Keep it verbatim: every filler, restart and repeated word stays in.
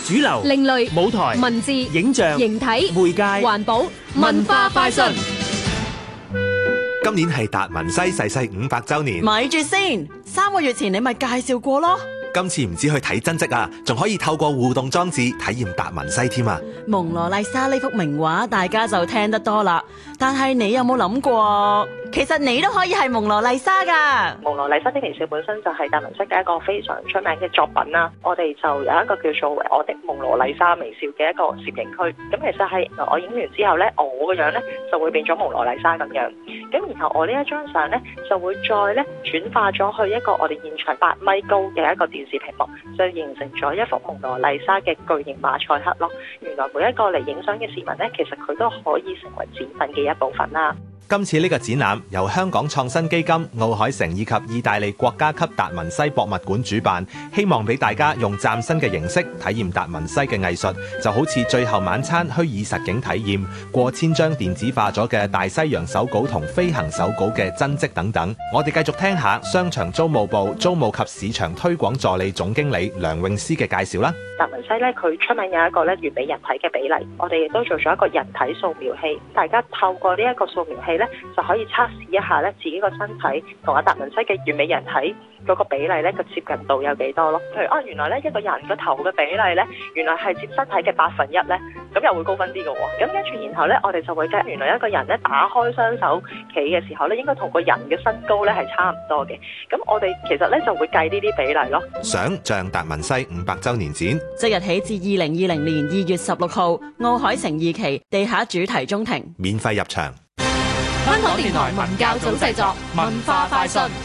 主流、 另類、 舞台、 文字、 影像、 形體、 媒介、 環保、文化快訊。 今年係達文西逝世五百週年， 咪住先，三個月前你咪介紹過咯。 今次唔止去睇真跡啊，仲可以透過互動裝置體驗達文西添啊！ 蒙羅麗莎呢幅名畫大家就聽得多啦，但係你有冇諗過，其實你都可以係蒙羅麗莎噶。 蒙羅麗莎的微笑本身就係達文西嘅一個非常出名嘅作品啦。我哋就有一個叫做我的蒙羅麗莎微笑嘅一個攝影區。咁其實係我影完之後呢，我個樣呢就會變咗蒙羅麗莎咁樣。咁然後我呢一張相呢，就會再呢轉化咗去一個我哋現場八米高嘅一個電視屏幕，就形成咗一幅蒙羅麗莎嘅巨型馬賽克咯。原來每一個嚟影相嘅市民呢，其實佢都可以成為展品嘅一部分啦。 今次呢個展覽由香港創新基金、奧海城以及意大利國家級達文西博物館主辦，希望俾大家用嶄新嘅形式體驗達文西嘅藝術，就好似最後晚餐虛擬實景體驗、過千張電子化咗嘅大西洋手稿同飛行手稿嘅真跡等等。我哋繼續聽下商場租務部租務及市場推廣助理總經理梁詠詩嘅介紹啦。 達文西咧，佢出名有一個咧完美人體嘅比例，我哋亦都做咗一個人體掃描器，大家透過呢一個掃描器咧，就可以測試一下咧自己個身體同阿達文西嘅完美人體嗰個比例咧個接近度有幾多咯。譬如啊，原來咧一個人個頭嘅比例咧，原來係佔身體嘅百分一咧，咁又會高分啲嘅喎。咁跟住然後咧，我哋就會計原來一個人咧打開雙手企嘅時候咧，應該同個人嘅身高咧係差唔多嘅。咁我哋其實咧就會計呢啲比例咯。 想像達文西五百週年展， 即日起至二零二零年二月十六號，奧海城二期地下主題中庭， 免費入場。 香港電台文教組製作，文化快訊。